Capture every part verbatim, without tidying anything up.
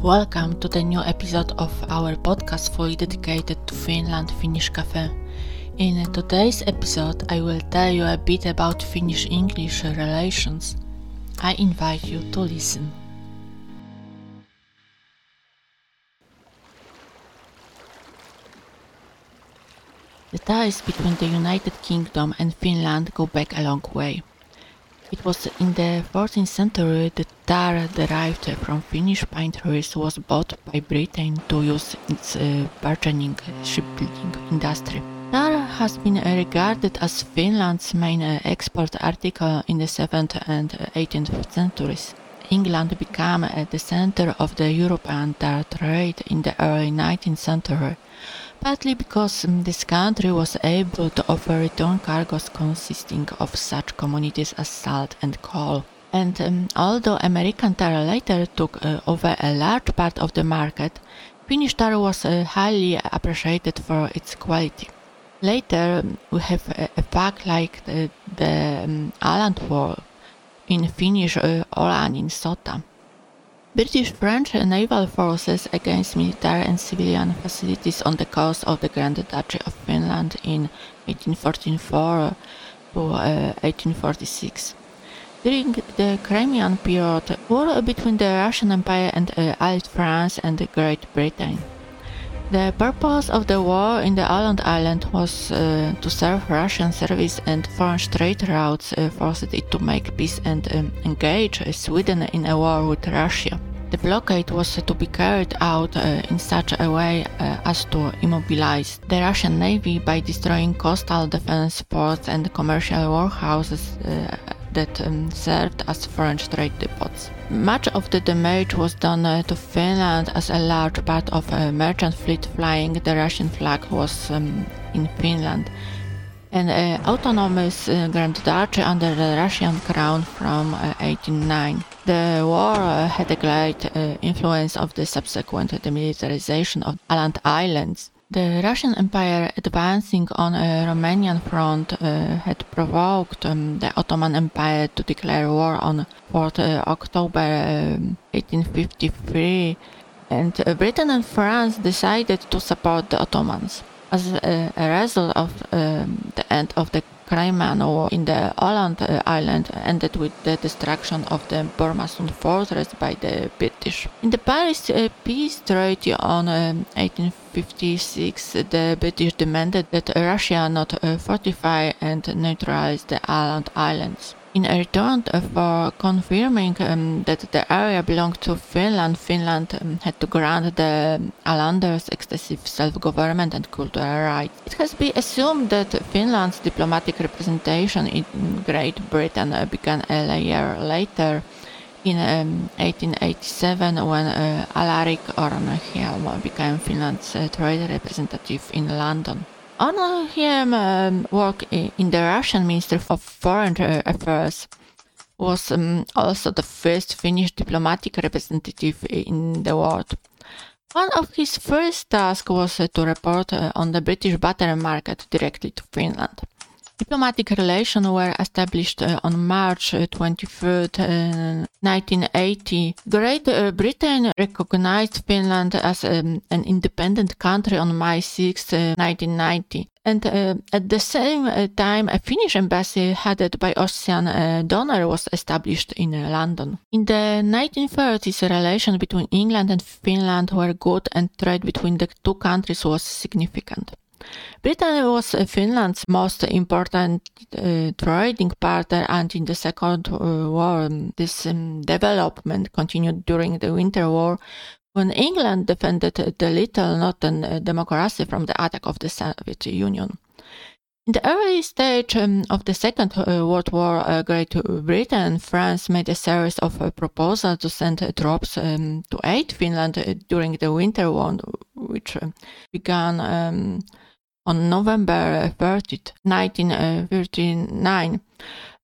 Welcome to the new episode of our podcast fully dedicated to Finland Finnish Cafe. In today's episode, I will tell you a bit about Finnish-English relations. I invite you to listen. The ties between the United Kingdom and Finland go back a long way. It was in the fourteenth century that tar derived from Finnish pine trees was bought by Britain to use in its uh, burgeoning shipbuilding industry. Tar has been regarded as Finland's main uh, export article in the seventh and eighteenth centuries. England became uh, the center of the European tar trade in the early nineteenth century, partly because um, this country was able to offer return cargoes consisting of such commodities as salt and coal. And um, although American tar later took uh, over a large part of the market, Finnish tar was uh, highly appreciated for its quality. Later, um, we have a, a fact like the, the um, Åland War, in Finnish uh, Ålannin sota. British-French naval forces against military and civilian facilities on the coast of the Grand Duchy of Finland in eighteen forty-four to uh, eighteen forty-six. During the Crimean period, war between the Russian Empire and uh, Allied France and Great Britain. The purpose of the war in the Åland Island was uh, to serve Russian service, and foreign trade routes uh, forced it to make peace and um, engage uh, Sweden in a war with Russia. The blockade was uh, to be carried out uh, in such a way uh, as to immobilize the Russian Navy by destroying coastal defense ports and commercial warehouses uh, that um, served as foreign trade depots. Much of the damage was done uh, to Finland, as a large part of a merchant fleet flying the Russian flag was um, in Finland, an uh, autonomous uh, Grand Duchy under the Russian crown from uh, eighteen oh nine. The war uh, had a great uh, influence of the subsequent demilitarization of Åland Islands. The Russian Empire advancing on a Romanian front uh, had provoked um, the Ottoman Empire to declare war on fourth of October um, eighteen fifty-three, and uh, Britain and France decided to support the Ottomans. As a, a result of um, the end of the Crimean War in the Åland uh, Island ended with the destruction of the Bormasund fortress by the British. In the Paris uh, Peace Treaty on um, eighteen fifty-six, the British demanded that Russia not uh, fortify and neutralize the Åland Islands. In return for confirming um, that the area belonged to Finland, Finland um, had to grant the Ålanders excessive self-government and cultural rights. It has been assumed that Finland's diplomatic representation in Great Britain uh, began a year later, in um, eighteen eighty-seven, when uh, Alaric Ornhielm became Finland's uh, trade representative in London. Ornhielm um, worked in the Russian Ministry of Foreign Affairs, was um, also the first Finnish diplomatic representative in the world. One of his first tasks was uh, to report uh, on the British butter market directly to Finland. Diplomatic relations were established uh, on March twenty-third, uh, nineteen eighty. Great uh, Britain recognized Finland as um, an independent country on May sixth, uh, nineteen ninety. And uh, at the same uh, time, a Finnish embassy headed by Ossian uh, Donner was established in uh, London. In the nineteen thirties, relations between England and Finland were good, and trade between the two countries was significant. Britain was Finland's most important uh, trading partner, and in the Second uh, War, this um, development continued during the Winter War, when England defended the little northern uh, democracy from the attack of the Soviet Union. In the early stage um, of the Second uh, World War, uh, Great Britain and France made a series of uh, proposals to send uh, troops um, to aid Finland uh, during the Winter War, which uh, began um, on November thirtieth, nineteen thirty-nine.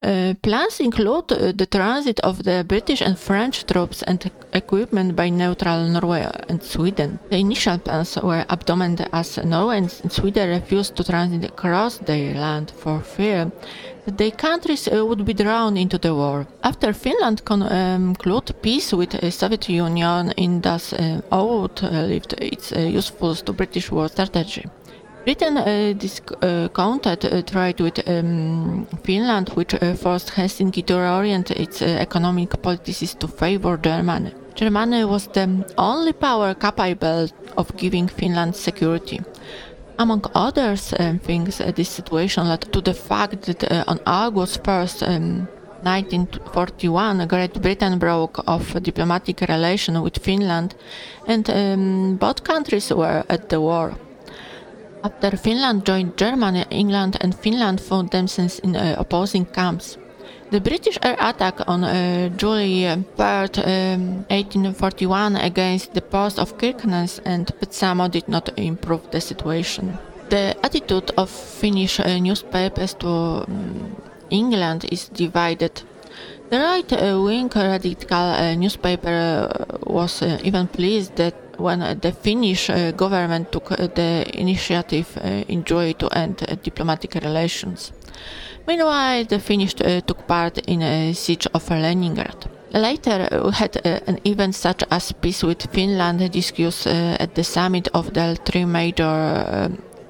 Uh, plans include uh, the transit of the British and French troops and equipment by neutral Norway and Sweden. The initial plans were abandoned as Norway and Sweden refused to transit across their land for fear that their countries uh, would be drawn into the war. After Finland concluded um, peace with the Soviet Union, it thus uh, outlived its uh, usefulness to British war strategy. Britain uh, discounted uh, trade with um, Finland, which uh, forced Helsinki to reorient its uh, economic policies to favor Germany. Germany was the only power capable of giving Finland security. Among other um, things, uh, this situation led to the fact that uh, on August first, um, nineteen forty-one, Great Britain broke off a diplomatic relation with Finland, and um, both countries were at the war. After Finland joined Germany, England and Finland found themselves in uh, opposing camps. The British air attack on uh, July third, um, eighteen forty-one against the post of Kirkenes and Petsamo did not improve the situation. The attitude of Finnish uh, newspapers to um, England is divided. The right-wing uh, radical uh, newspaper uh, was uh, even pleased that when uh, the Finnish uh, government took uh, the initiative uh, in July to end uh, diplomatic relations. Meanwhile, the Finnish uh, took part in a siege of Leningrad. Later, uh, we had uh, an event such as peace with Finland discussed uh, at the summit of the three major uh,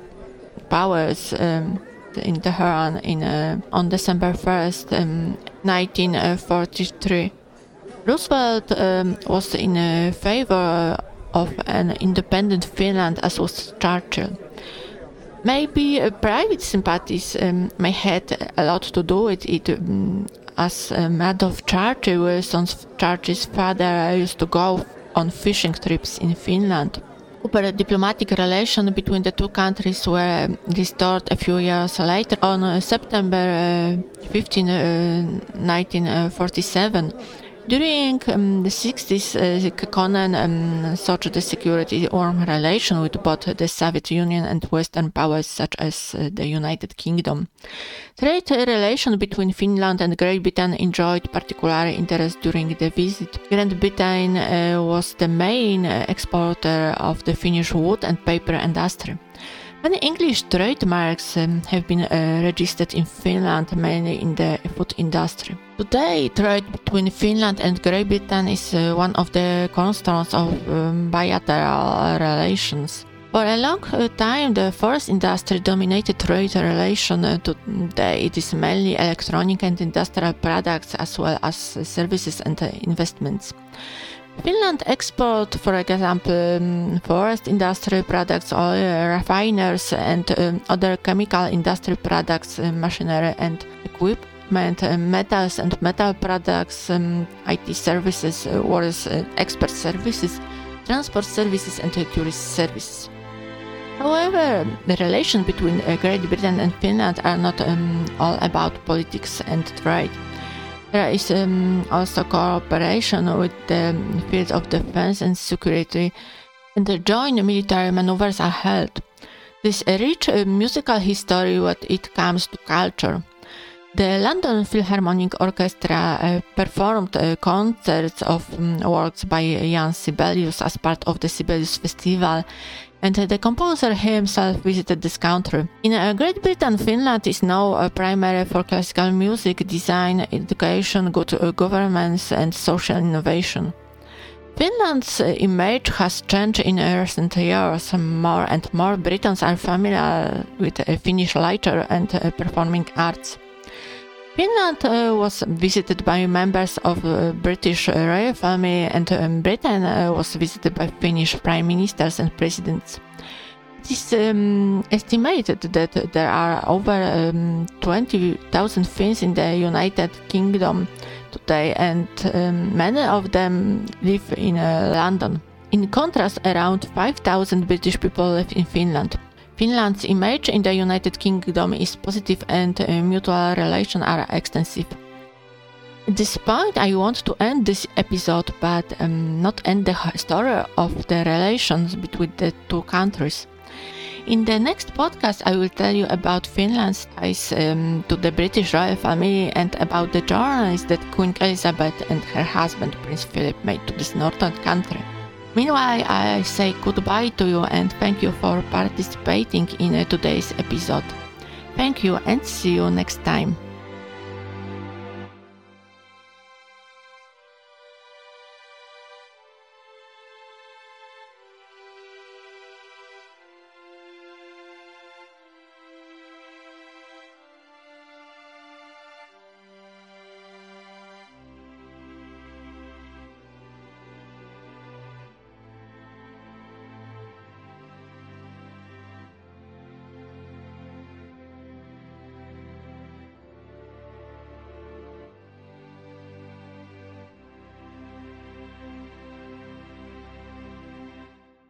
powers um, in Tehran in, uh, on December first, um, nineteen forty-three. Roosevelt um, was in uh, favor of an independent Finland, as was Churchill. Maybe uh, private sympathies um, may had a lot to do with it, um, as uh, Adolf Churchill, Winston Churchill's father, used to go on fishing trips in Finland. Proper diplomatic relations between the two countries were restored a few years later. On uh, September fifteenth, nineteen forty-seven, during um, the sixties, uh, Kekkonen um, sought the security warm relation with both the Soviet Union and Western powers such as uh, the United Kingdom. Trade relations between Finland and Great Britain enjoyed particular interest during the visit. Great Britain uh, was the main uh, exporter of the Finnish wood and paper industry. Many English trademarks um, have been uh, registered in Finland, mainly in the food industry. Today, trade between Finland and Great Britain is uh, one of the cornerstones of um, bilateral relations. For a long uh, time, the forest industry dominated trade relations. Uh, today, it is mainly electronic and industrial products, as well as uh, services and uh, investments. Finland exports, for example, um, forest industry products, oil refiners, and um, other chemical industry products, uh, machinery and equipment, uh, metals and metal products, um, I T services, uh, wars, uh, expert services, transport services, and uh, tourist services. However, the relations between uh, Great Britain and Finland are not um, all about politics and trade. There is um, also cooperation with the field of defense and security, and the joint military maneuvers are held. This is a rich uh, musical history when it comes to culture. The London Philharmonic Orchestra uh, performed uh, concerts of um, works by Jan Sibelius as part of the Sibelius Festival, and uh, the composer himself visited this country. In uh, Great Britain, Finland is now a primary for classical music, design, education, good uh, governance, and social innovation. Finland's uh, image has changed in recent years. More and more Britons are familiar with uh, Finnish literature and uh, performing arts. Finland uh, was visited by members of the British royal family, and um, Britain uh, was visited by Finnish prime ministers and presidents. It is um, estimated that there are over um, twenty thousand Finns in the United Kingdom today, and um, many of them live in uh, London. In contrast, around five thousand British people live in Finland. Finland's image in the United Kingdom is positive, and uh, mutual relations are extensive. At this point, I want to end this episode, but um, not end the story of the relations between the two countries. In the next podcast, I will tell you about Finland's ties um, to the British royal family and about the journeys that Queen Elizabeth and her husband Prince Philip made to this northern country. Meanwhile, I say goodbye to you and thank you for participating in uh, today's episode. Thank you and see you next time.